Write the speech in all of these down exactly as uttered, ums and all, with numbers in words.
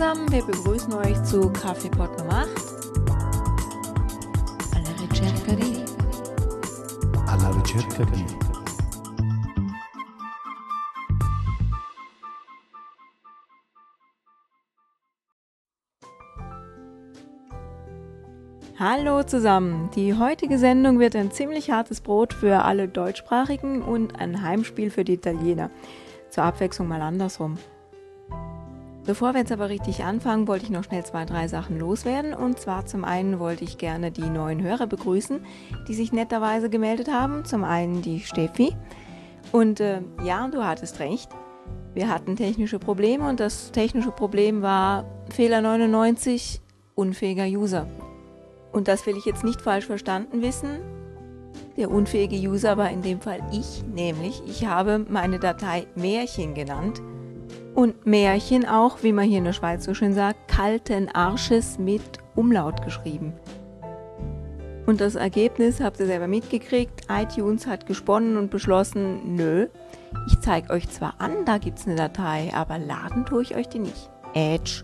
zusammen, wir begrüßen euch zu Kaffeepot Nummer acht. Alla ricerca di. Alla ricerca di. Hallo zusammen, die heutige Sendung wird ein ziemlich hartes Brot für alle Deutschsprachigen und ein Heimspiel für die Italiener. Zur Abwechslung mal andersrum. Bevor wir jetzt aber richtig anfangen, wollte ich noch schnell zwei, drei Sachen loswerden. Und zwar zum einen wollte ich gerne die neuen Hörer begrüßen, die sich netterweise gemeldet haben. Zum einen die Steffi. Und äh, ja, du hattest recht. Wir hatten technische Probleme und das technische Problem war Fehler neunundneunzig, unfähiger User. Und das will ich jetzt nicht falsch verstanden wissen. Der unfähige User war in dem Fall ich, nämlich ich habe meine Datei Märchen genannt. Und Märchen auch, wie man hier in der Schweiz so schön sagt, kalten Arsches mit Umlaut geschrieben. Und das Ergebnis habt ihr selber mitgekriegt. iTunes hat gesponnen und beschlossen, nö, ich zeige euch zwar an, da gibt es eine Datei, aber laden tue ich euch die nicht. Ätsch.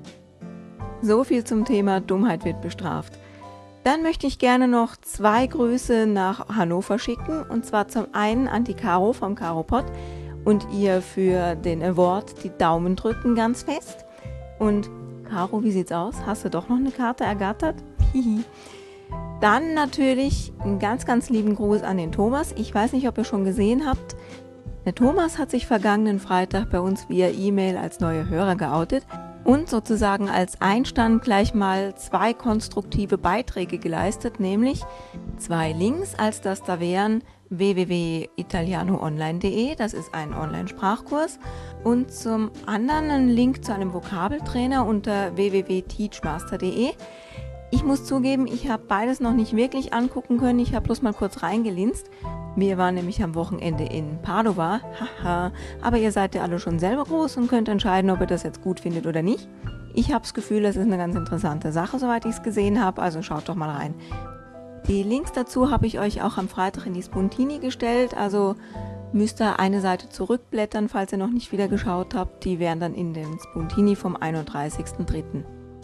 So viel zum Thema Dummheit wird bestraft. Dann möchte ich gerne noch zwei Grüße nach Hannover schicken. Und zwar zum einen an die Caro vom Karopod und ihr für den Award die Daumen drücken ganz fest. Und Caro, wie sieht's aus? Hast du doch noch eine Karte ergattert? Hihi. Dann natürlich einen ganz, ganz lieben Gruß an den Thomas. Ich weiß nicht, ob ihr schon gesehen habt. Der Thomas hat sich vergangenen Freitag bei uns via E-Mail als neuer Hörer geoutet. Und sozusagen als Einstand gleich mal zwei konstruktive Beiträge geleistet, nämlich zwei Links, als das da wären w w w punkt italiano online punkt de, das ist ein Online-Sprachkurs, und zum anderen ein Link zu einem Vokabeltrainer unter w w w punkt teachmaster punkt de. Ich muss zugeben, ich habe beides noch nicht wirklich angucken können, ich habe bloß mal kurz reingelinst. Wir waren nämlich am Wochenende in Padova, haha, aber ihr seid ja alle schon selber groß und könnt entscheiden, ob ihr das jetzt gut findet oder nicht. Ich habe das Gefühl, das ist eine ganz interessante Sache, soweit ich es gesehen habe, also schaut doch mal rein. Die Links dazu habe ich euch auch am Freitag in die Spuntini gestellt, also müsst ihr eine Seite zurückblättern, falls ihr noch nicht wieder geschaut habt, die wären dann in den Spuntini vom einunddreißigsten dritten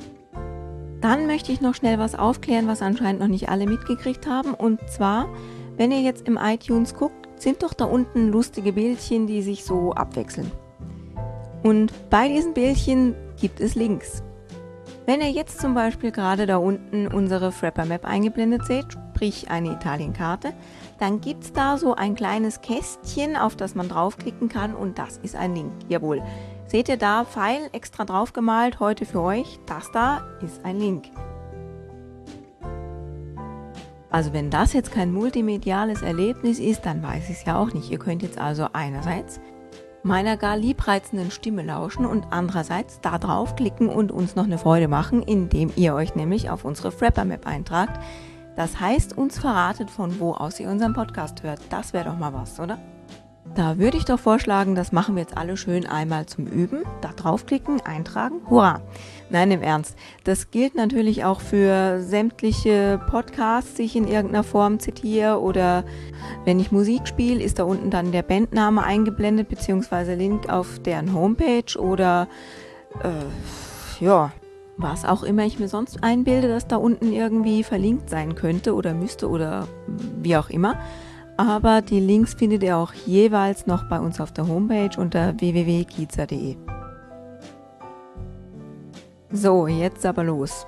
Dann möchte ich noch schnell was aufklären, was anscheinend noch nicht alle mitgekriegt haben, und zwar, wenn ihr jetzt im iTunes guckt, sind doch da unten lustige Bildchen, die sich so abwechseln. Und bei diesen Bildchen gibt es Links. Wenn ihr jetzt zum Beispiel gerade da unten unsere Frapper Map eingeblendet seht, sprich eine Italienkarte, dann gibt es da so ein kleines Kästchen, auf das man draufklicken kann, und das ist ein Link. Jawohl. Seht ihr da, Pfeil extra drauf gemalt, heute für euch, das da ist ein Link. Also wenn das jetzt kein multimediales Erlebnis ist, dann weiß ich es ja auch nicht. Ihr könnt jetzt also einerseits meiner gar liebreizenden Stimme lauschen und andererseits da draufklicken und uns noch eine Freude machen, indem ihr euch nämlich auf unsere Frapper Map eintragt. Das heißt, uns verratet, von wo aus ihr unseren Podcast hört. Das wäre doch mal was, oder? Da würde ich doch vorschlagen, das machen wir jetzt alle schön einmal zum Üben. Da draufklicken, eintragen, hurra! Nein, im Ernst. Das gilt natürlich auch für sämtliche Podcasts, die ich in irgendeiner Form zitiere, oder wenn ich Musik spiele, ist da unten dann der Bandname eingeblendet, beziehungsweise Link auf deren Homepage oder äh, ja, was auch immer ich mir sonst einbilde, dass da unten irgendwie verlinkt sein könnte oder müsste oder wie auch immer. Aber die Links findet ihr auch jeweils noch bei uns auf der Homepage unter w w w punkt kiza punkt de. So, jetzt aber los.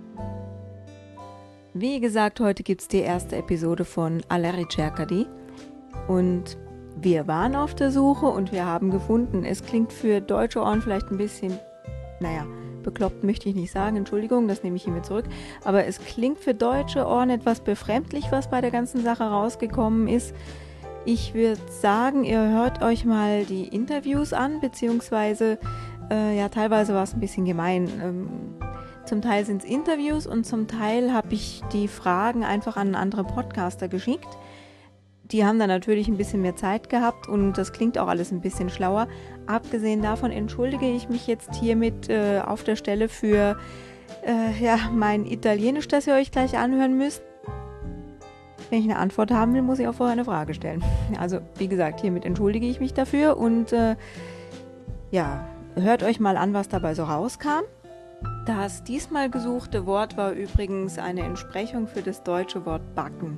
Wie gesagt, heute gibt es die erste Episode von Alla ricerca di. Und wir waren auf der Suche und wir haben gefunden. Es klingt für deutsche Ohren vielleicht ein bisschen, naja, bekloppt möchte ich nicht sagen, Entschuldigung, das nehme ich hiermit zurück, aber es klingt für deutsche Ohren etwas befremdlich, was bei der ganzen Sache rausgekommen ist. Ich würde sagen, ihr hört euch mal die Interviews an, beziehungsweise, äh, ja, teilweise war es ein bisschen gemein. Ähm, zum Teil sind es Interviews und zum Teil habe ich die Fragen einfach an andere Podcaster geschickt. Die haben dann natürlich ein bisschen mehr Zeit gehabt und das klingt auch alles ein bisschen schlauer. Abgesehen davon entschuldige ich mich jetzt hiermit äh, auf der Stelle für äh, ja, mein Italienisch, das ihr euch gleich anhören müsst. Wenn ich eine Antwort haben will, muss ich auch vorher eine Frage stellen. Also wie gesagt, hiermit entschuldige ich mich dafür und äh, ja, hört euch mal an, was dabei so rauskam. Das diesmal gesuchte Wort war übrigens eine Entsprechung für das deutsche Wort backen.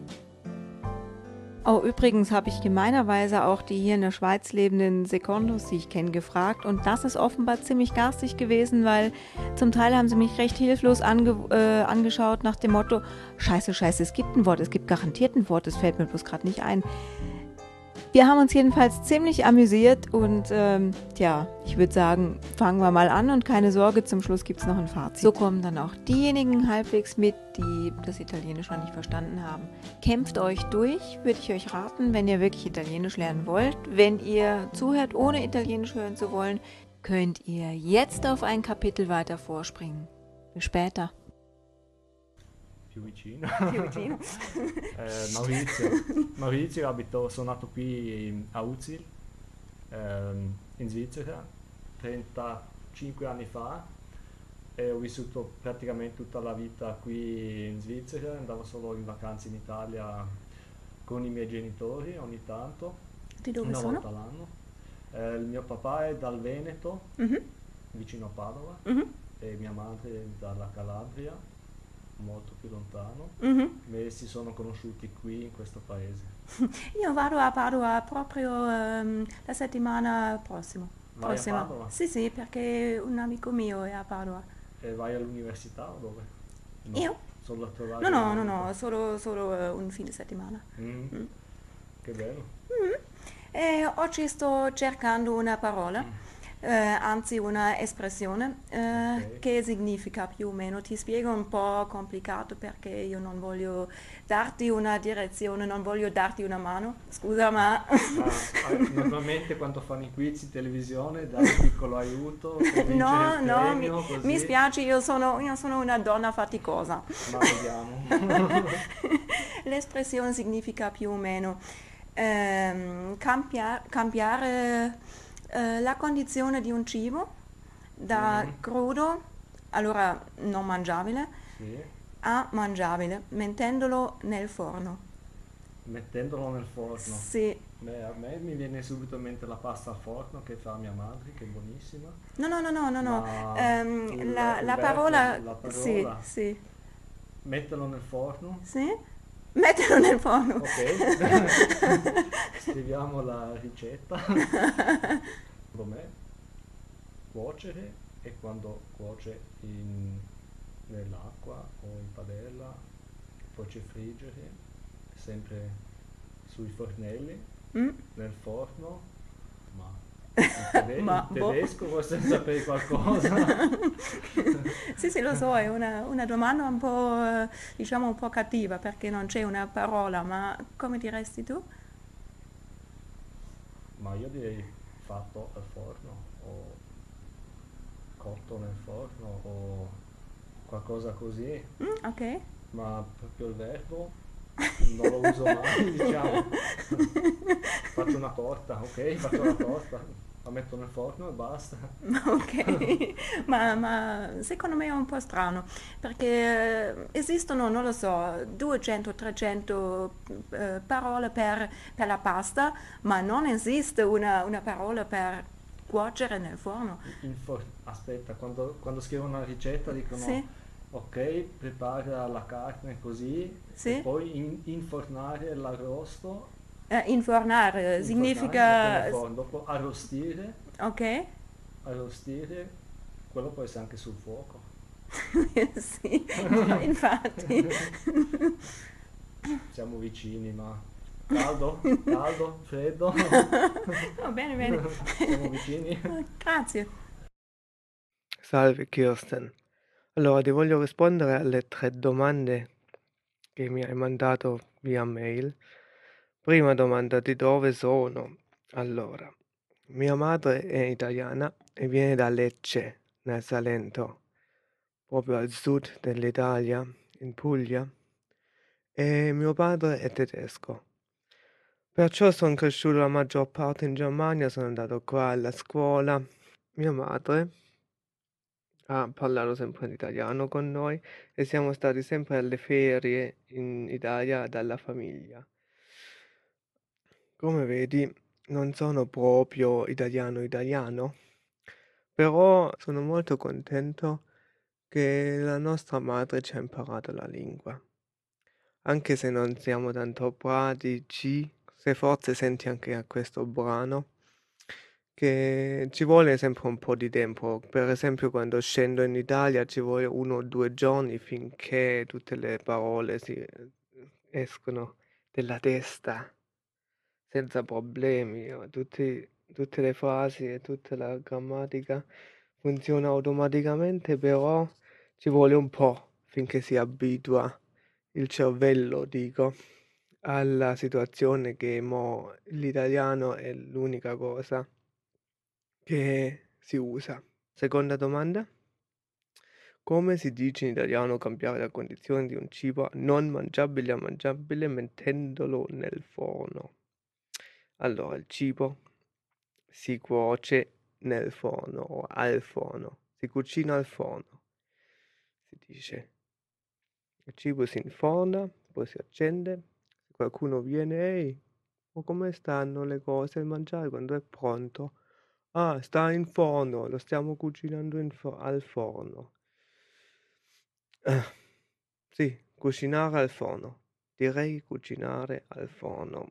Oh, übrigens habe ich gemeinerweise auch die hier in der Schweiz lebenden Secondos, die ich kenne, gefragt. Und das ist offenbar ziemlich garstig gewesen, weil zum Teil haben sie mich recht hilflos ange äh, angeschaut nach dem Motto, scheiße, scheiße, es gibt ein Wort, es gibt garantiert ein Wort, das fällt mir bloß gerade nicht ein. Wir haben uns jedenfalls ziemlich amüsiert und ähm, ja, ich würde sagen, fangen wir mal an und keine Sorge, zum Schluss gibt es noch ein Fazit. So kommen dann auch diejenigen halbwegs mit, die das Italienisch noch nicht verstanden haben. Kämpft euch durch, würde ich euch raten, wenn ihr wirklich Italienisch lernen wollt. Wenn ihr zuhört, ohne Italienisch hören zu wollen, könnt ihr jetzt auf ein Kapitel weiter vorspringen. Bis später. Più vicino. Più vicino. eh, Maurizio. Maurizio, abito, sono nato qui a Uzil, ehm, in Svizzera, trentacinque anni fa e ho vissuto praticamente tutta la vita qui in Svizzera, andavo solo in vacanze in Italia con i miei genitori ogni tanto, Di dove una sono? volta l'anno. Eh, il mio papà è dal Veneto, Mhm, vicino a Padova, mhm, e mia madre è dalla Calabria, molto più lontano. mhm. E si sono conosciuti qui in questo paese. Io vado a Padova proprio ehm, la settimana prossima. Vai a prossima. Padova? Sì, sì, perché un amico mio è a Padova. E vai all'università o dove? No, Io? solo a trovare No, no, un no, amico. no, solo, solo eh, un fine settimana. Mm, Mm. Che bello. E oggi sto cercando una parola, Mm, eh, anzi una espressione, eh, Ok. che significa più o meno. Ti spiego un po' complicato perché io non voglio darti una direzione, non voglio darti una mano. Scusa, ma... Ah, ah, normalmente quando fanno i quiz in televisione dai un piccolo aiuto per vincere No, il no, mi, premio, mi così. spiace, io sono, io sono una donna faticosa. Ma vediamo. L'espressione significa più o meno ehm, campia- cambiare eh, la condizione di un cibo da Mhm, crudo, allora non mangiabile, Sì. a mangiabile, mettendolo nel forno. Mettendolo nel forno. Sì. Beh, a me mi viene subito in mente la pasta al forno che fa mia madre, che è buonissima. No, no, no, no, no, no. Ma Ehm, il, la, il la verbo, parola... la Sì, parola, sì, metterlo nel forno. sì. Metterlo nel forno. Ok, scriviamo la ricetta. Com'è? Cuocere e quando cuoce in- nell'acqua o in padella, poi c'è friggere, sempre sui fornelli, Mm? nel forno, ma in, tede- Ma, in boh. tedesco forse sapere qualcosa. Sì, sì, lo so, è una, una domanda un po', eh, diciamo, un po' cattiva perché non c'è una parola, ma come diresti tu? Ma io direi fatto al forno o cotto nel forno o qualcosa così, Mm, ok. ma proprio il verbo non lo uso mai, diciamo. Faccio una torta, ok? Faccio una torta, la metto nel forno e basta. Ok, ma, ma secondo me è un po' strano perché eh, esistono, non lo so, duecento trecento eh, parole per, per la pasta, ma non esiste una, una parola per cuocere nel forno. In for- aspetta, quando, quando scrivono una ricetta dicono Sì, ok, prepara la carne così e sì. poi in- infornare l'arrosto, Eh, infornare infornare, significa... mettere nel forno, dopo arrostire, Ok? arrostire, quello può essere anche sul fuoco. Sì, infatti. Siamo vicini, ma caldo, caldo, freddo, Oh, bene, bene. siamo vicini. Grazie. Salve Kirsten. Allora, ti voglio rispondere alle tre domande che mi hai mandato via mail. Prima domanda, di dove sono? Allora, mia madre è italiana e viene da Lecce, nel Salento, proprio al sud dell'Italia, in Puglia, e mio padre è tedesco. Perciò sono cresciuto la maggior parte in Germania, sono andato qua alla scuola. Mia madre ha parlato sempre in italiano con noi e siamo stati sempre alle ferie in Italia dalla famiglia. Come vedi, non sono proprio italiano italiano, Però sono molto contento che la nostra madre ci ha imparato la lingua. Anche se non siamo tanto pratici, se forse senti anche a questo brano, che ci vuole sempre un po' di tempo. Per esempio, quando scendo in Italia ci vuole uno o due giorni finché tutte le parole si eh, escono dalla testa senza problemi. o Tutti, tutte le frasi e tutta la grammatica funziona automaticamente, però ci vuole un po' finché si abitua il cervello, dico, alla situazione che mo l'italiano è l'unica cosa che si usa. Seconda domanda. Come si dice in italiano cambiare la condizione di un cibo non mangiabile a mangiabile mettendolo nel forno? Allora, il cibo si cuoce nel forno o al forno, si cucina al forno, si dice. Il cibo si inforna, poi si accende, se qualcuno viene, ehi, ma come stanno le cose, il mangiare quando è pronto? Ah, sta in forno, lo stiamo cucinando in fo- al forno. Eh, sì, cucinare al forno. Direi cucinare al forno.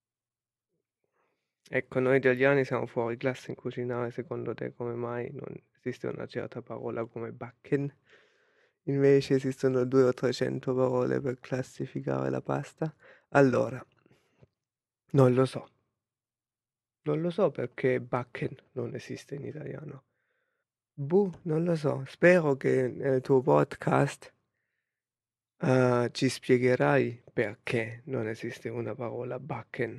Ecco, noi italiani siamo fuori classe in cucinare, secondo te come mai non esiste una certa parola come backen? Invece esistono due o trecento parole per classificare la pasta? Allora, non lo so. Non lo so perché backen non esiste in italiano. Boh, non lo so. Spero che nel tuo podcast eh, ci spiegherai perché non esiste una parola backen.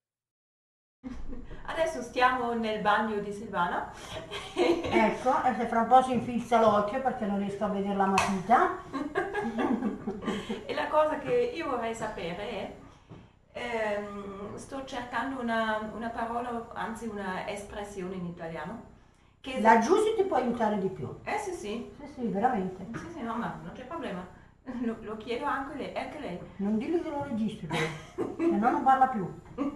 Adesso stiamo nel bagno di Silvana. Ecco, e se fra un po' si infilza l'occhio perché non riesco a vedere la matita. E la cosa che io vorrei sapere è, ehm, sto cercando una, una parola, anzi una espressione in italiano. Che La Giusy ti può aiutare di più. Eh sì sì, Sì, sì, veramente. sì sì, no ma non c'è problema. Lo, lo chiedo anche lei, anche lei. Non dillo che lo registri, però, se no non parla più.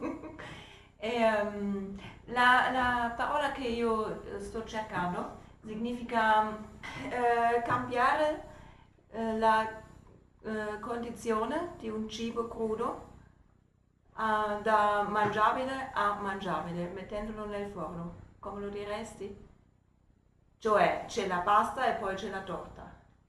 Ehm, la, la parola che io eh, sto cercando significa eh, cambiare eh, la eh, condizione di un cibo crudo ah, da mangiabile a mangiabile, mettendolo nel forno. Come lo diresti? Cioè c'è la pasta e poi c'è la torta.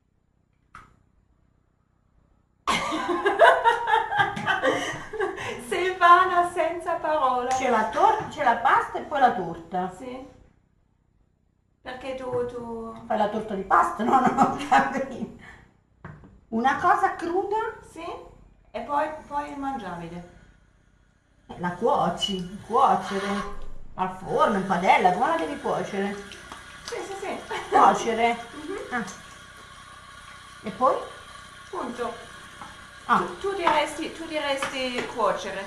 Silvana senza parola. C'è la, tor- c'è la pasta e poi la torta. Sì. Perché tu, tu... Fai la torta di pasta? No, no, no, capito. Una cosa cruda Sì? E poi, poi il mangiabile. eh, la cuoci, cuocere. Al forno, in padella, come la devi cuocere? Sì, sì, sì. Cuocere. Ah. E poi? Punto. Ah. Tu, tu diresti, tu diresti cuocere.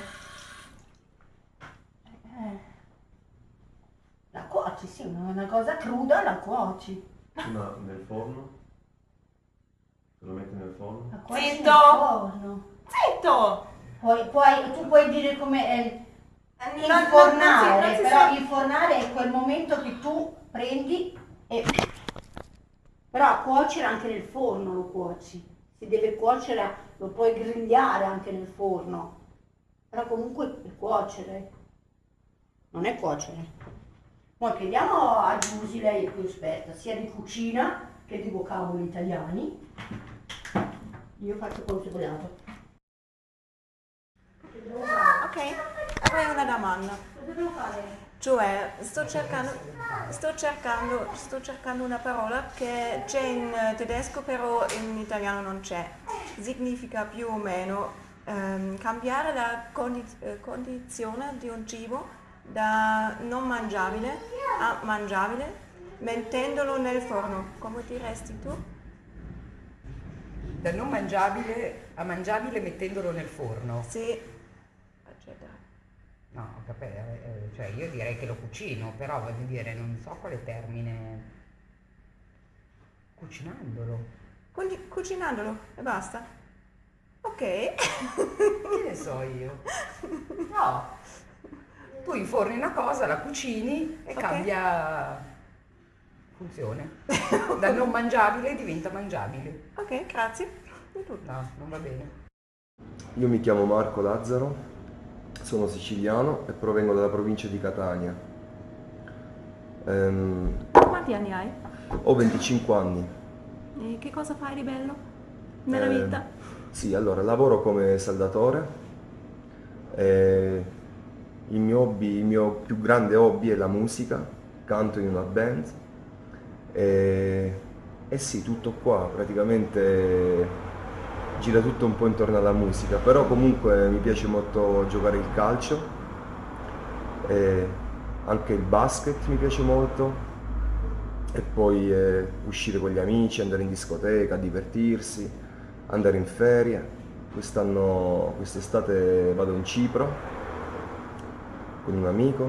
Eh. La cuoci, sì, una una cosa cruda la cuoci. Ma nel forno? Se lo metti nel forno? La cuoci Zitto! nel forno. Zitto! Poi, poi tu puoi dire come è Non- infornare, non si- non si però sa- infornare è quel momento che tu prendi e... Però cuocere anche nel forno lo cuoci. Si deve cuocere, lo puoi grigliare anche nel forno. Però comunque è cuocere. Non è cuocere. Poi chiediamo a Giusy, lei è più esperta, sia di cucina che di vocaboli italiani. Io faccio considerato. Ok, avrei una domanda. Cosa devo fare? Cioè, sto cercando, sto cercando, sto cercando una parola che c'è in eh, tedesco, però in italiano non c'è. Significa più o meno ehm, cambiare la condi- eh, condizione di un cibo da non mangiabile a mangiabile, mettendolo nel forno. Come diresti tu? Da non mangiabile a mangiabile mettendolo nel forno. Sì, eccetera. No, ho capito, eh, cioè io direi che lo cucino, però voglio dire, non so quale termine. Cucinandolo. Quindi cucinandolo e basta. Ok. Che ne so io? No. Tu inforni una cosa, la cucini e Ok. cambia funzione. Da non mangiabile diventa mangiabile. Ok, grazie. No, non va bene. Io mi chiamo Marco Lazzaro, sono siciliano e provengo dalla provincia di Catania. Ehm, Quanti anni hai? ho venticinque anni. E che cosa fai di bello nella Eh, vita? Sì, allora lavoro come saldatore. E il mio hobby, il mio più grande hobby è la musica, canto in una band. E, e sì, tutto qua, praticamente gira tutto un po' intorno alla musica, però comunque mi piace molto giocare il calcio, e anche il basket mi piace molto, e poi eh, uscire con gli amici, andare in discoteca, divertirsi, andare in ferie. Quest'anno, quest'estate vado in Cipro con un amico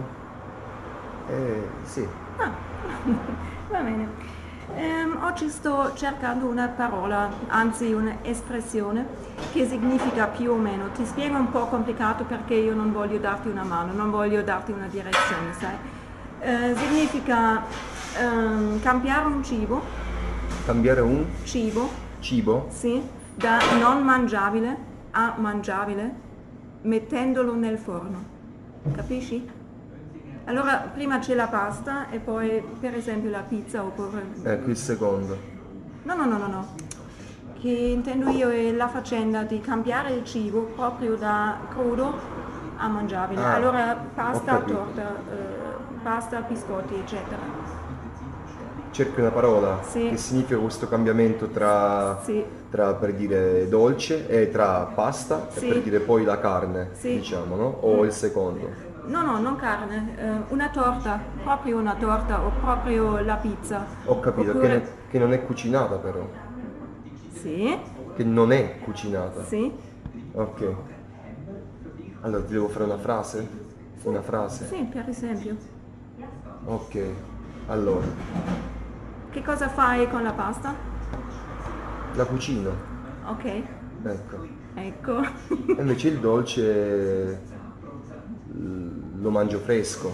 e sì. Ah, va bene. Ehm, oggi sto cercando una parola, anzi un'espressione che significa più o meno. Ti spiego un po' complicato perché io non voglio darti una mano, non voglio darti una direzione, sai? Eh, significa ehm, cambiare un cibo, Cambiare un cibo, cibo? sì, da non mangiabile a mangiabile, mettendolo nel forno. Capisci? Allora, prima c'è la pasta e poi, per esempio, la pizza oppure... Ecco il secondo. No, no, no, no, no. Che intendo io è la faccenda di cambiare il cibo proprio da crudo a mangiabile. Ah, Allora, ho pasta, capito. torta, eh, pasta, biscotti, eccetera. Cerchi una parola Sì. che significa questo cambiamento tra, Sì. tra per dire dolce e tra pasta Sì. e per dire poi la carne, Sì. diciamo, no? O il secondo. No, no, non carne, eh, una torta, proprio una torta o proprio la pizza. Ho capito, Oppure... che, ne- che non è cucinata però. Sì, Che non è cucinata. sì, Ok. Allora ti devo fare una frase? Una frase? sì, per esempio. Ok. Allora, Che cosa fai con la pasta? la cucino. Ok, Ecco. ecco. E invece il dolce mm, lo mangio fresco.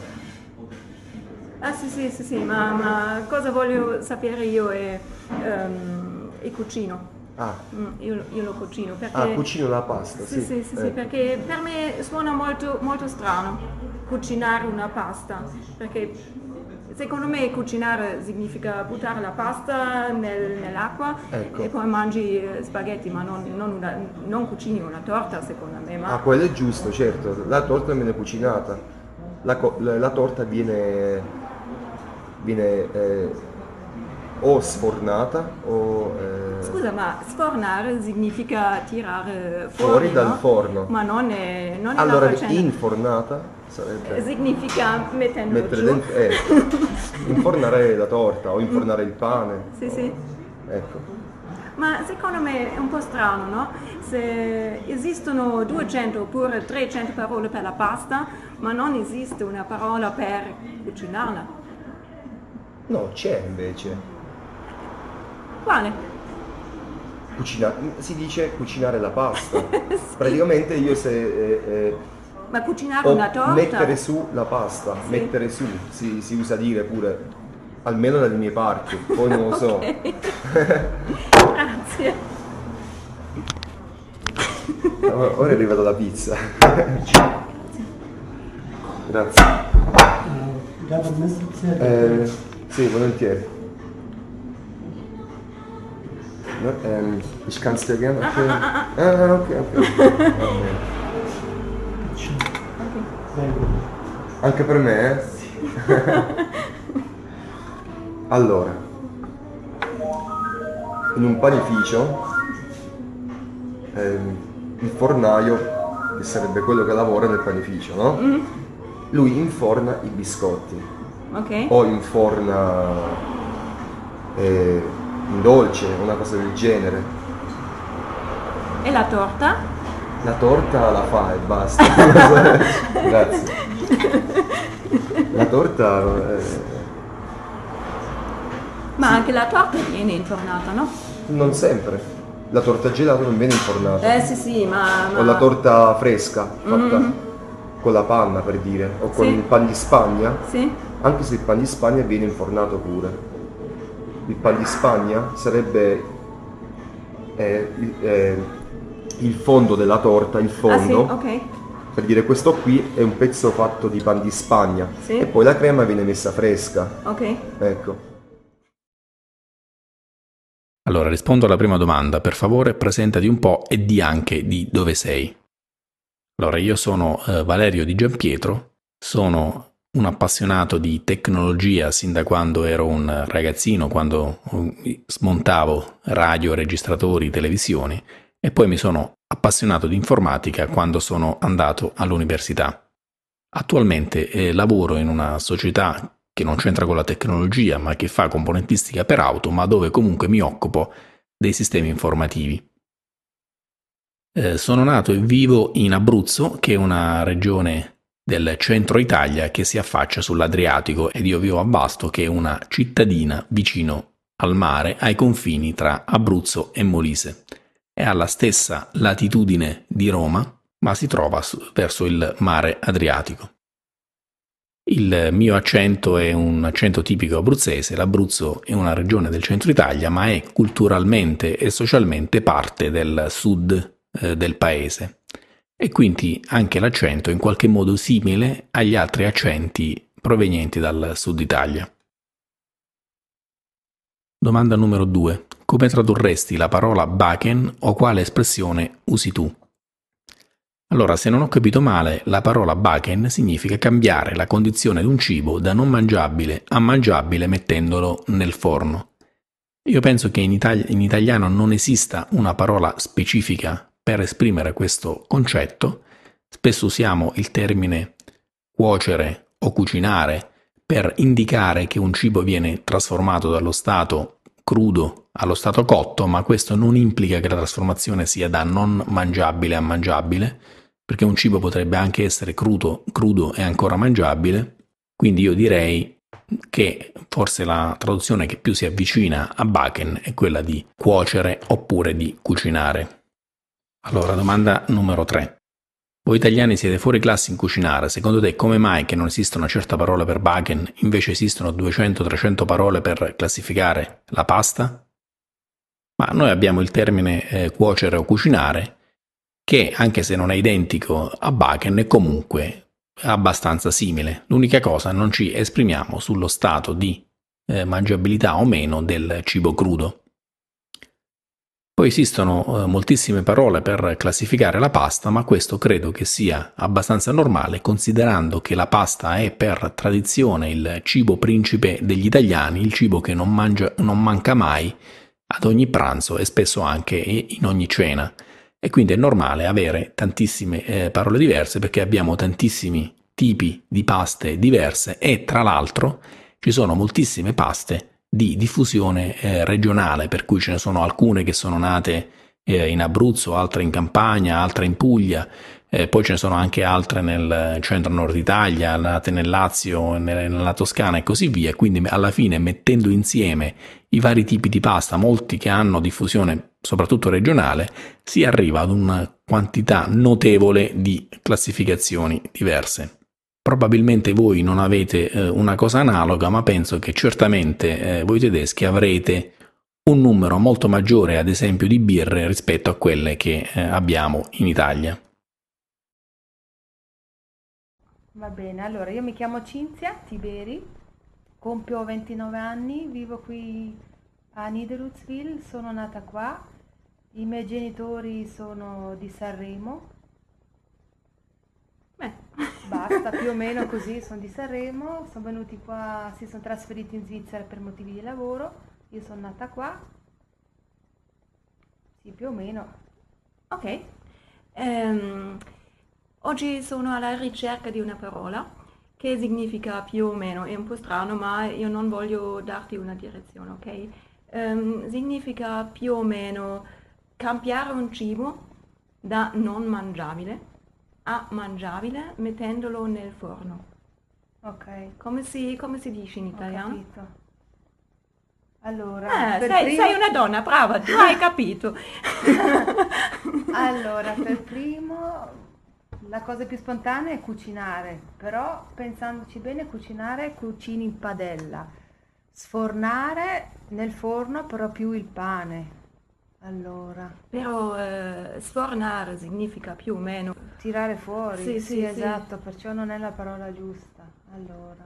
Ah sì, sì, sì, sì, ma, ma cosa voglio sapere io è ehm, il cucino. Ah, Mm, io, io lo cucino perché... ah, cucino la pasta, Sì, sì. sì, sì, sì, Ecco. perché per me suona molto, molto strano cucinare una pasta, perché secondo me cucinare significa buttare la pasta nel- nell'acqua Ecco. e poi mangi eh, spaghetti, ma non, non una- non cucini una torta secondo me, ma Ah, quello è giusto, certo. La torta viene cucinata. La, co- la- la torta viene, viene eh, o sfornata o eh, scusa, ma sfornare significa tirare fuori, fuori dal no? forno. Ma non è, non è Allora, la faccenda. infornata sarebbe Significa mettendolo mettere giù. dentro, eh, infornare la torta o infornare il pane. Sì, sì. Ecco. Ma secondo me è un po' strano, no? Se esistono duecento oppure trecento parole per la pasta, ma non esiste una parola per cucinarla. No, c'è invece. Quale? Cucina- si dice cucinare la pasta. Praticamente io se eh, eh, Ma cucinare o una torta? mettere su la pasta, Sì. mettere su, si, si usa dire pure, almeno dalle mie parti, poi non lo so. Ok. Grazie. Ora ora è arrivata la pizza. Grazie. Eh, sì, volentieri. No, ehm, ich kann es dir gerne erklären. Ah, ok, ok. Va bene. Anche per me, eh? Allora, in un panificio, ehm, il fornaio, che sarebbe quello che lavora nel panificio, no? Lui inforna i biscotti Ok. o inforna eh, un dolce, una cosa del genere. E la torta? La torta la fa e basta. Grazie. La torta eh, Ma anche la torta viene infornata, no? non sempre. La torta gelata non viene infornata. Eh sì sì, ma... ma... O la torta fresca, fatta con la panna per dire, o con Sì. il pan di Spagna, Sì? anche se il pan di Spagna viene infornato pure. il pan di Spagna sarebbe eh, il, eh, il fondo della torta, il fondo. Ah sì, ok. Per dire, questo qui è un pezzo fatto di pan di Spagna, Sì. e poi la crema viene messa fresca. Ok. Ecco. Allora, rispondo alla prima domanda. Per favore, presentati un po' e di anche di dove sei. Allora, io sono eh, Valerio Di Giampietro, sono un appassionato di tecnologia sin da quando ero un ragazzino, quando smontavo radio, registratori, televisioni, e poi mi sono appassionato di informatica quando sono andato all'università. Attualmente eh, lavoro in una società che non c'entra con la tecnologia, ma che fa componentistica per auto, ma dove comunque mi occupo dei sistemi informativi. Eh, sono nato e vivo in Abruzzo, che è una regione del centro Italia che si affaccia sull'Adriatico, ed io vivo a Vasto, che è una cittadina vicino al mare, ai confini tra Abruzzo e Molise. È alla stessa latitudine di Roma, ma si trova su, verso il mare Adriatico. Il mio accento è un accento tipico abruzzese. L'Abruzzo è una regione del centro Italia, ma è culturalmente e socialmente parte del sud eh, del paese, e quindi anche l'accento è in qualche modo simile agli altri accenti provenienti dal sud Italia. Domanda numero due. Come tradurresti la parola baken o quale espressione usi tu? Allora, se non ho capito male, la parola baken significa cambiare la condizione di un cibo da non mangiabile a mangiabile mettendolo nel forno. Io penso che in, Itali- in italiano non esista una parola specifica per esprimere questo concetto. Spesso usiamo il termine cuocere o cucinare per indicare che un cibo viene trasformato dallo stato crudo allo stato cotto, ma questo non implica che la trasformazione sia da non mangiabile a mangiabile, perché un cibo potrebbe anche essere crudo, crudo e ancora mangiabile. Quindi io direi che forse la traduzione che più si avvicina a baken è quella di cuocere oppure di cucinare. Allora, domanda numero tre. Voi italiani siete fuori classe in cucinare. Secondo te come mai che non esiste una certa parola per baken, invece esistono duecento trecento parole per classificare la pasta? Ma noi abbiamo il termine eh, cuocere o cucinare, che anche se non è identico a baken è comunque abbastanza simile. L'unica cosa, non ci esprimiamo sullo stato di eh, mangiabilità o meno del cibo crudo. Poi esistono eh, moltissime parole per classificare la pasta, ma questo credo che sia abbastanza normale, considerando che la pasta è per tradizione il cibo principe degli italiani, il cibo che non, mangia, non manca mai ad ogni pranzo e spesso anche in ogni cena. E quindi è normale avere tantissime eh, parole diverse, perché abbiamo tantissimi tipi di paste diverse, e tra l'altro ci sono moltissime paste di diffusione eh, regionale, per cui ce ne sono alcune che sono nate eh, in Abruzzo, altre in Campania, altre in Puglia, eh, poi ce ne sono anche altre nel centro-nord Italia, nate nel Lazio, nella Toscana e così via. Quindi alla fine, mettendo insieme i vari tipi di pasta, molti che hanno diffusione soprattutto regionale, si arriva ad una quantità notevole di classificazioni diverse. Probabilmente voi non avete eh, una cosa analoga, ma penso che certamente eh, voi tedeschi avrete un numero molto maggiore, ad esempio, di birre rispetto a quelle che eh, abbiamo in Italia. Va bene, allora io mi chiamo Cinzia Tiberi, compio ventinove anni, vivo qui a Niederutzwil, sono nata qua, i miei genitori sono di Sanremo. Beh. Basta, più o meno così, sono di Sanremo, sono venuti qua, si sono trasferiti in Svizzera per motivi di lavoro, io sono nata qua, sì, più o meno. Ok. Ehm, oggi sono alla ricerca di una parola che significa più o meno, è un po' strano, ma io non voglio darti una direzione, ok? Ehm, significa più o meno cambiare un cibo da non mangiabile a mangiabile mettendolo nel forno. Ok. Come si, come si dice in Ho italiano? capito. Allora, Eh, per sei, primo... sei una donna, brava, tu hai capito. Allora, per primo, la cosa più spontanea è cucinare, però pensandoci bene, cucinare cucini in padella. Sfornare nel forno però più il pane. Allora, Però eh, sfornare significa più o meno. tirare fuori. Sì, sì, sì. esatto, perciò non è la parola giusta. Allora,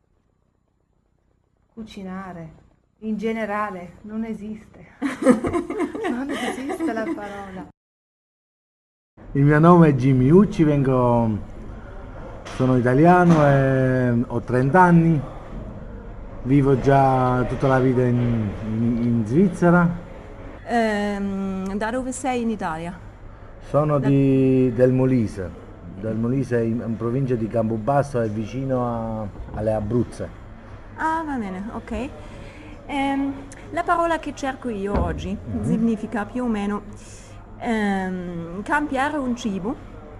cucinare. In generale non esiste. Non esiste la parola. Il mio nome è Jimmy Ucci, vengo, sono italiano e ho trenta anni, vivo già tutta la vita in, in- in Svizzera, Ehm, da dove sei in Italia? sono di- del Molise, del Molise in, in provincia di Campobasso, è vicino a- alle Abruzze. Ah, va bene, ok. Ehm, la parola che cerco io oggi significa più o meno ehm, cambiare un cibo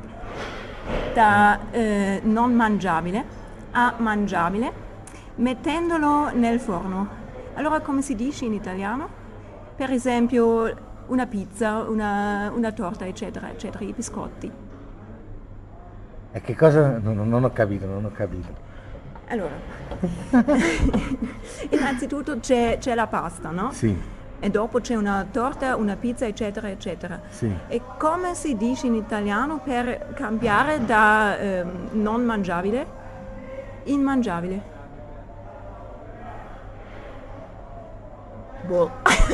da eh, non mangiabile a mangiabile mettendolo nel forno. Allora come si dice in italiano? Per esempio una pizza, una, una torta, eccetera, eccetera, i biscotti. E che cosa? Non, non ho capito, non ho capito. Allora, innanzitutto c'è, c'è la pasta, no? Sì, E dopo c'è una torta, una pizza, eccetera, eccetera. sì. E come si dice in italiano per cambiare da ehm, non mangiabile in mangiabile? Boh.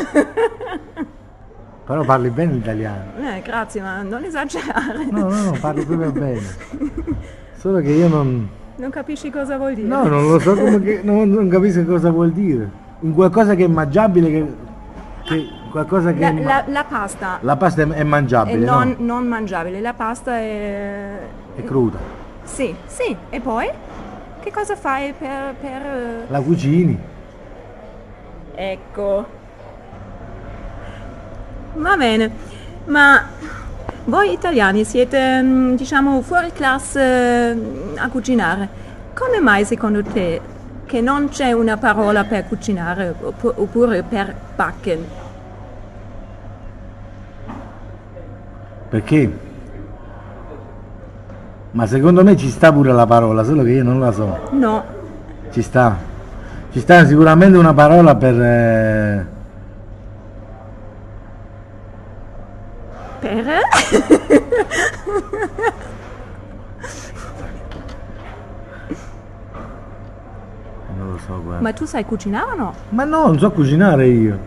Però parli bene l'italiano. Eh, grazie, ma non esagerare. No, no, no, parli proprio bene. Solo che io non... Non capisci cosa vuol dire? No, non lo so come che, non, non capisco cosa vuol dire. Un qualcosa che è mangiabile, che, che qualcosa che La, è ma- la- la pasta la pasta è, è è mangiabile, non, no? non mangiabile, la pasta è... È cruda. Sì, sì, e poi? Che cosa fai per... per eh, La cucini. Ecco. Va bene, ma voi italiani siete, mm, diciamo, fuori classe mm, a cucinare. Come mai secondo te che non c'è una parola per cucinare oppu- oppure per backen? Perché? Ma secondo me ci sta pure la parola, solo che io non la so. No, Ci sta. Ci sta sicuramente una parola per... eh, per? Non lo so, guarda. Ma tu sai cucinare o no? Ma no, non so cucinare io.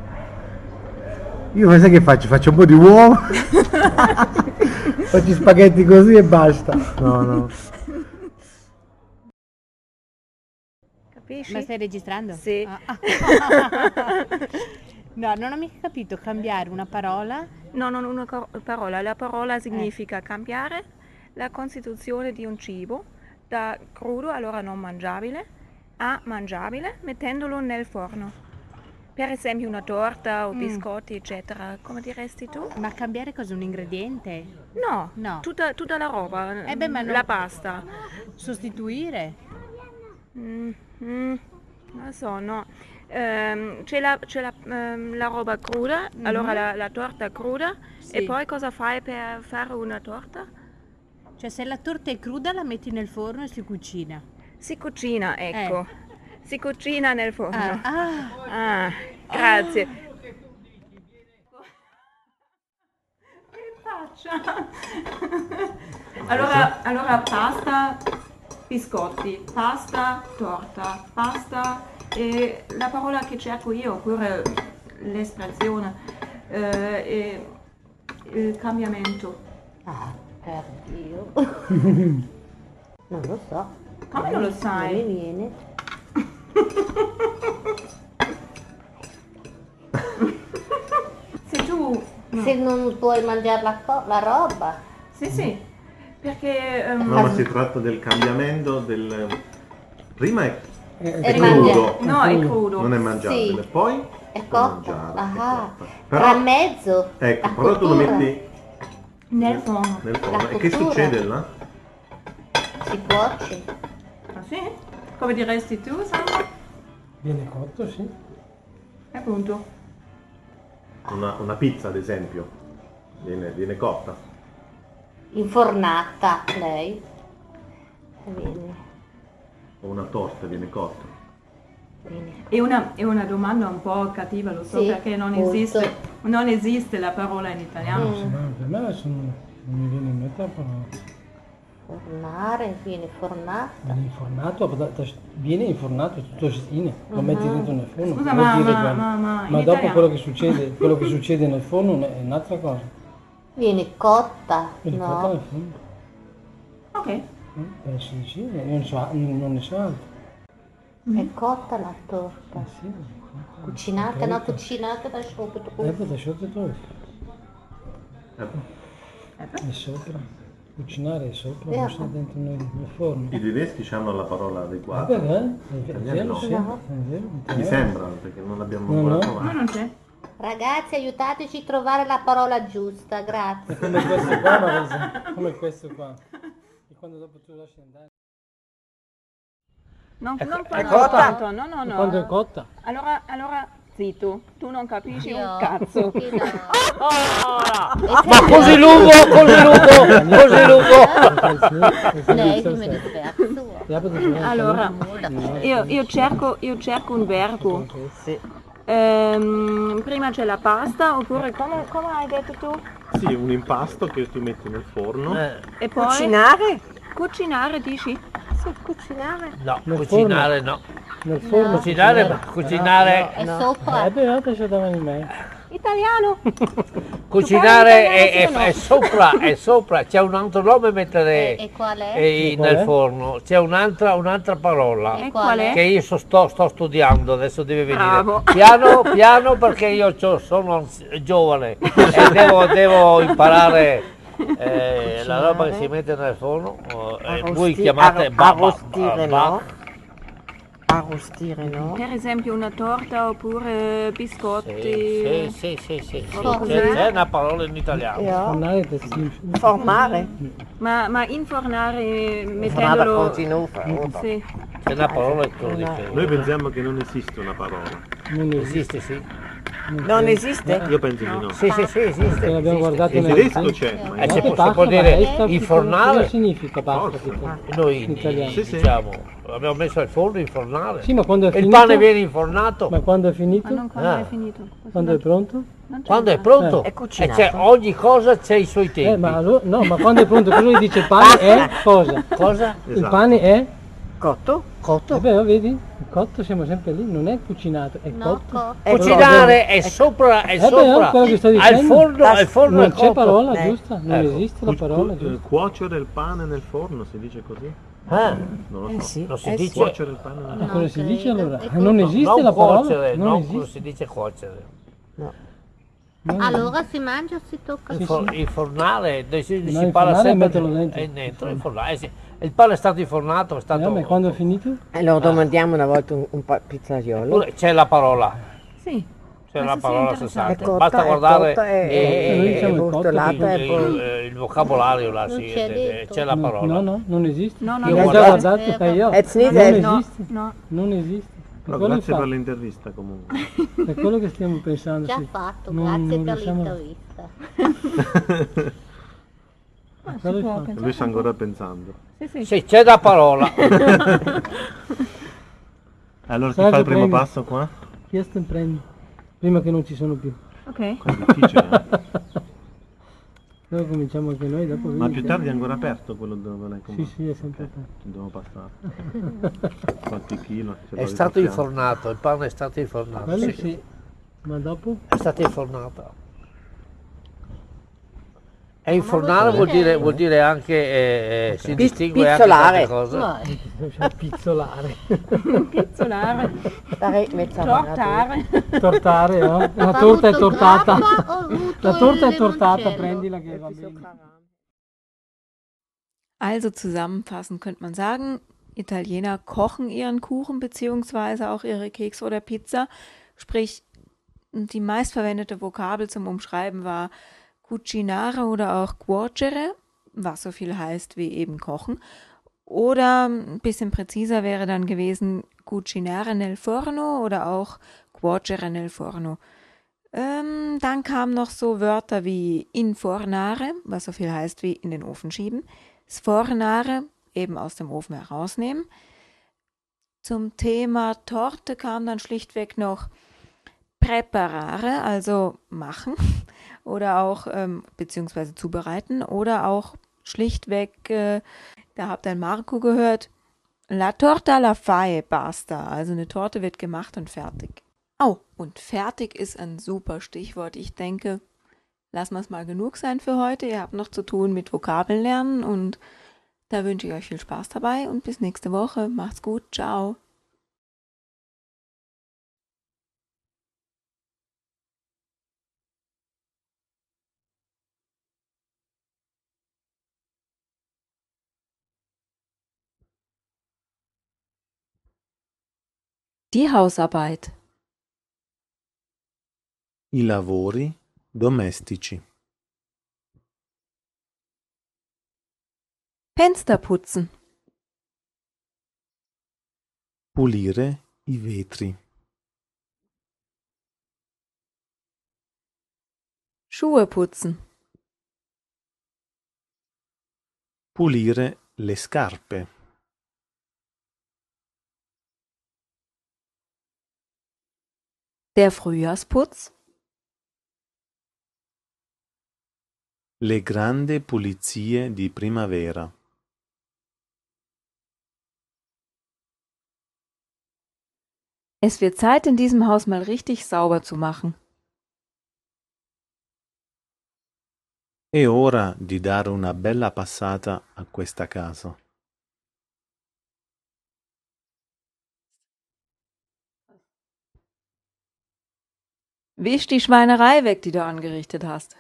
Io sai che faccio? Faccio un po' di uova, faccio spaghetti così e basta. No, no. Capisci? Ma stai registrando? Sì. Ah. No, non ho mica capito, cambiare una parola. No, non una co- parola. La parola significa cambiare la costituzione di un cibo da crudo, allora non mangiabile, a mangiabile mettendolo nel forno. Per esempio una torta o Mm. biscotti, eccetera. Come diresti tu? Ma cambiare cosa? Un ingrediente? No, No. Tutta, tutta la roba, Eh beh, ma non- la pasta. Sostituire? Mm, mm, non lo so, no. Ehm, c'è la, c'è la, ehm, la roba cruda, Mhm. allora la, la torta cruda, Sì. e poi cosa fai per fare una torta? Cioè se la torta è cruda la metti nel forno e si cucina. Si cucina, ecco. Si cucina nel forno. Ah, ah. Ah, grazie. Che faccia? Allora, allora pasta, biscotti, pasta, torta, pasta e la parola che cerco io, oppure l'espressione, eh, è il cambiamento. Ah, per Dio. Non lo so. Come non lo sai? Non mi viene. Se tu... no. Se non puoi mangiare la, co- la roba. Sì, sì, perché... ehm, No, ma si tratta del cambiamento del... Prima è, È è mangia- crudo, no, è crudo. non è mangiabile, Sì. poi È puoi cotta. mangiare, è Ah, cotta. tra Però, mezzo. ecco, la però tu lo cottura. metti Nel forno. nel forno. La E che cottura. succede là? Si cuoce. Ah sì? Come diresti tu, Sandro? Viene cotto, sì. Appunto. Una, una pizza, ad esempio, viene, viene cotta. Infornata lei. Bene. O una torta viene cotta. È una, è una domanda un po' cattiva, lo so, Sì, perché non molto. esiste, non esiste la parola in italiano. No, per me sono, non mi viene in mente la parola. Fornare, viene fornata. Viene infornato, da- da- viene infornato tutto in, lo Mhm. metti dentro nel forno. Scusa, vuol ma- dire ma- quello. ma- ma in dopo italiano? quello che succede, quello che succede nel forno è un'altra cosa. Viene cotta, Viene fatta no? nel forno. Ok. Eh, Penso di sì, non, so, non ne so altro. È cotta la torta. Eh sì, Cucinata, no, Corretto. cucinata da sopra. Eh, poi da sotto tu. È sopra. Cucinare è sopra, Eh. non sta dentro nel, nel forno. I tedeschi hanno la parola adeguata. Eh, beh, eh, è Gli vero, italiani no. sì, è vero, Mi sembra, perché non l'abbiamo No, ancora no. trovato. Ma non c'è. Ragazzi, aiutateci a trovare la parola giusta, grazie. Come questo qua, Marisa, come questo qua. E quando dopo tu lasci andare. Non, È- non è parlare cotta? tanto, no, no, E no. quando è cotta? Allora, allora, zitto, tu non capisci Io- un cazzo. Chi no? Ma così lungo, così lungo, così lungo. Lei come disperso. Allora, io, io cerco, io cerco un verbo. Ehm, prima c'è la pasta, oppure come, come hai detto tu? Sì, un impasto che tu metti nel forno. E poi? Cucinare? Cucinare, dici? Sì, cucinare. No, Nel cucinare no. Nel forno Cucinare, cucinare, È sopra. Eh beh, io c'è davanti a me. Italiano. cucinare è, è- è sopra, è sopra, c'è un altro nome mettere E qual è? eh, E qual nel è? forno, c'è un'altra, un'altra parola E qual è? che io so- sto, sto studiando, adesso deve venire. Bravo. Piano, piano perché io c'ho- sono anzi- giovane e devo, devo imparare eh, la roba che si mette nel forno. eh, voi Arrosti- chiamate arro- ba- ba- arrostire, ba- no? Arrostire, no? Per esempio una torta oppure biscotti. Sì, sì, sì, sì, sì. Roba così. C'è, c'è una parola in italiano. Ja. Fornare è semplice. Formare. Ma, ma infornare Formare mettendolo... continua. Sì. C'è una parola che lo dice. Noi pensiamo che non esiste una parola. Non esiste. Esiste, sì. Non esiste? Io penso di no. Sì, sì, sì, esiste. Che l'abbiamo guardato In nel tedesco c'è, ma Eh, in si può, si Pasta, può ma dire è sta- infornare. Cosa significa pasta? Forza. tipo? Noi In italiano. Sì, sì. diciamo, abbiamo messo il forno infornare. Sì, ma quando è Il finito? pane viene infornato. Ma quando è finito? Ma non quando Ah. è finito. Quando è pronto? Non c'è Quando è nada. pronto? È E cucinato. c'è, ogni cosa c'è i suoi Eh, tempi. ma allo- no, ma quando è pronto, cosa gli dice il pane è cosa? Cosa? Il Esatto. pane è? Cotto? Eh beh, vedi? Il cotto siamo sempre lì, non è cucinato, è No, cotto. co- Ecco, Cucinare è sopra, è Eh beh, sopra. quello che sto Al dicendo. forno, al forno Non è c'è cotto. parola Eh. giusta, non Ecco. esiste la Cu- parola cu- giusta. cuocere il pane nel forno, si dice così? Ah, Non lo Eh so. sì. non si eh dice Cuocere il pane nel Ma forno. cosa si dice credo. allora? Ecco. Non esiste non la parola? cuocere, Non non esiste. si dice cuocere. Non Allora si mangia o si tocca? Il, for- il fornale, dove si, No, si il parla fornale sempre metterlo dentro. È dentro il fornale, eh sì. Il pane è stato infornato, è stato... Eh, ma quando è finito? E lo domandiamo una volta un, un pa- pizzaiolo. Oppure c'è la parola, Sì. c'è la Questo sì, parola interessante. sessanta. È cotta, Basta è guardare cotta, è- eh, Noi è diciamo il cotto, brustolata il, e poi... il- il vocabolario là, Non sì, c'è eh, eh, detto. c'è la No, parola. no, no, non esiste. No, no, Io no, ho no. già guardato che io. It's not Non that- No, esiste. no. Non esiste. Per Però quello, grazie fa- per l'intervista comunque. per quello che stiamo pensando. Già sì. fatto, Non- grazie non per riusciamo- l'intervista. per quello può fa- pensare. Lui sta ancora pensando. Sì, sì. Sì, c'è la parola. Allora chi Sergio, fa il primo prendi. passo qua? Chiesto in prendi. Prima che non ci sono più. Ok. È difficile. eh? Noi cominciamo anche noi, dopo Ma vedi più che- tardi è ancora aperto quello dove l'hai Sì, comprato? sì, è sempre Ok, aperto. ci devo passare. Qualche chilo. ce È l'ho stato ripassiamo. infornato, il pane è stato infornato. Quello Sì. sì. Ma dopo? È stato infornato. E infornare vuol dire, vuol dire anche, eh, eh, si Pi- distingue anche pizzolare. tante cose. No, Cioè, pizzolare. Pizzolare. Stare mezza Tortare. Tortare, no? La Ha torta è avuto tortata. grappa o avuto La torta è il tortata, limoncello? prendila che va bene. Also zusammenfassend könnte man sagen, Italiener kochen ihren Kuchen beziehungsweise auch ihre Kekse oder Pizza. Sprich, die meistverwendete Vokabel zum Umschreiben war cucinare oder auch cuocere, was so viel heißt wie eben kochen. Oder ein bisschen präziser wäre dann gewesen cucinare nel forno oder auch cuocere nel forno. Ähm, dann kamen noch so Wörter wie infornare, was so viel heißt wie in den Ofen schieben. Sfornare, eben aus dem Ofen herausnehmen. Zum Thema Torte kam dann schlichtweg noch preparare, also machen oder auch ähm, beziehungsweise zubereiten oder auch schlichtweg, äh, da habt ihr Marco gehört, la torta la fai basta, also eine Torte wird gemacht und fertig. Oh, und fertig ist ein super Stichwort. Ich denke, lassen wir es mal genug sein für heute. Ihr habt noch zu tun mit Vokabeln lernen und da wünsche ich euch viel Spaß dabei und bis nächste Woche. Macht's gut, ciao. Die Hausarbeit. I lavori domestici. Fenster putzen. Pulire i vetri. Schuhe putzen. Pulire le scarpe. Der Frühjahrsputz. Le grandi pulizie di primavera. Es wird Zeit, in diesem Haus mal richtig sauber zu machen. È ora di dare una bella passata a questa casa. Wisch die Schweinerei weg, die du angerichtet hast.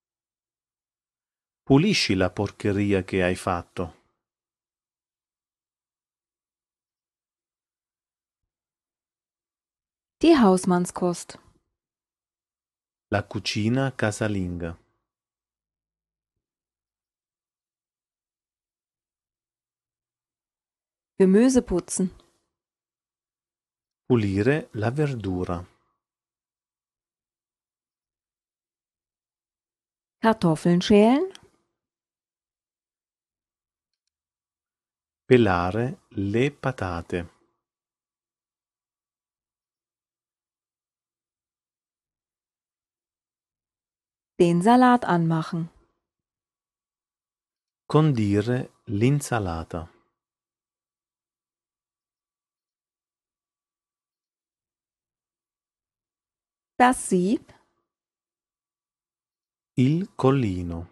Pulisci la porcheria che hai fatto. Die Hausmannskost. La cucina casalinga. Gemüse putzen. Pulire la verdura. Kartoffeln schälen. Pelare le patate. Den Salat anmachen. Condire l'insalata. Das Sieb. Il collino.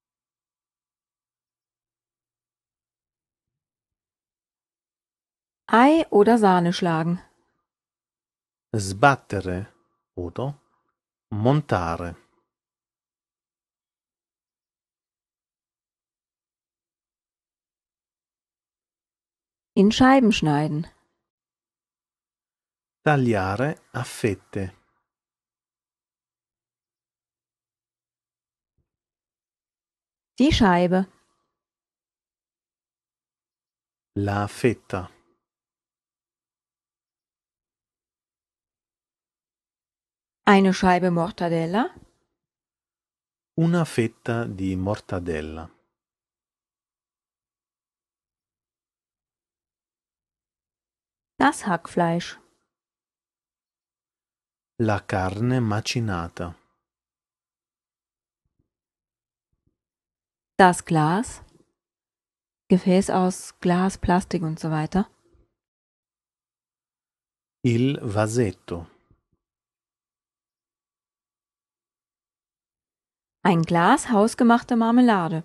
Ei oder Sahne schlagen. Sbattere oder montare. In Scheiben schneiden. Tagliare a fette. Die Scheibe. La fetta. Eine Scheibe Mortadella. Una fetta di mortadella. Das Hackfleisch. La carne macinata. Das Glas. Gefäß aus Glas, Plastik und so weiter. Il vasetto. Ein Glas hausgemachte Marmelade.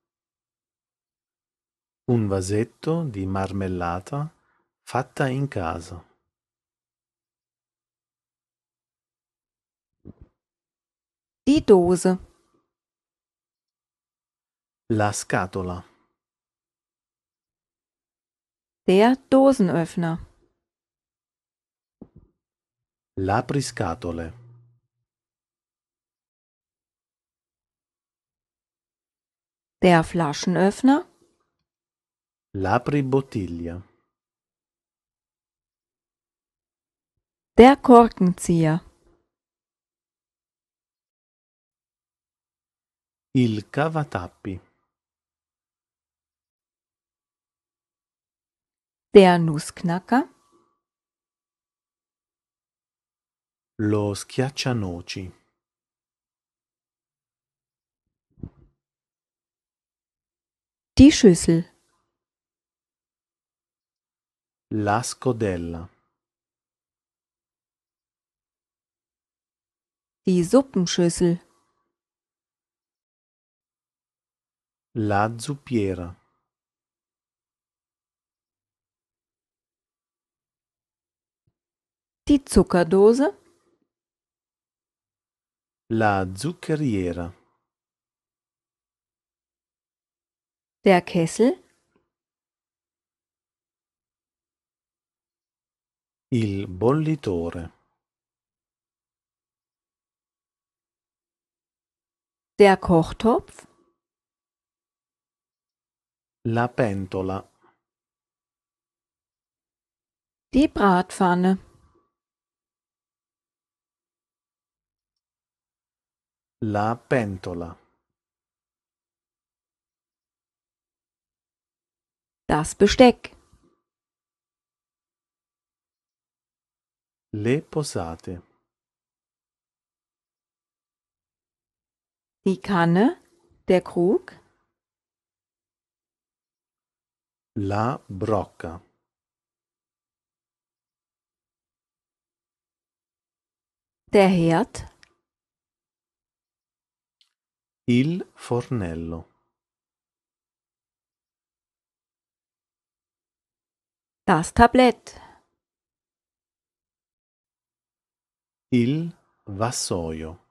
Un vasetto di marmellata fatta in casa. Die Dose. La scatola. Der Dosenöffner. L'apriscatole. Der Flaschenöffner. L'apribottiglia. Der Korkenzieher. Il cavatappi. Der Nussknacker. Lo schiaccianoci. Die Schüssel. La scodella. Die Suppenschüssel. La zuppiera. Die Zuckerdose. La zuccheriera. Der Kessel. Il bollitore. Der Kochtopf. La pentola. Die Bratpfanne. La pentola. Das Besteck. Le posate. Die Kanne. Der Krug. La brocca. Der Herd. Il fornello. Das Tablett. Il vassoio.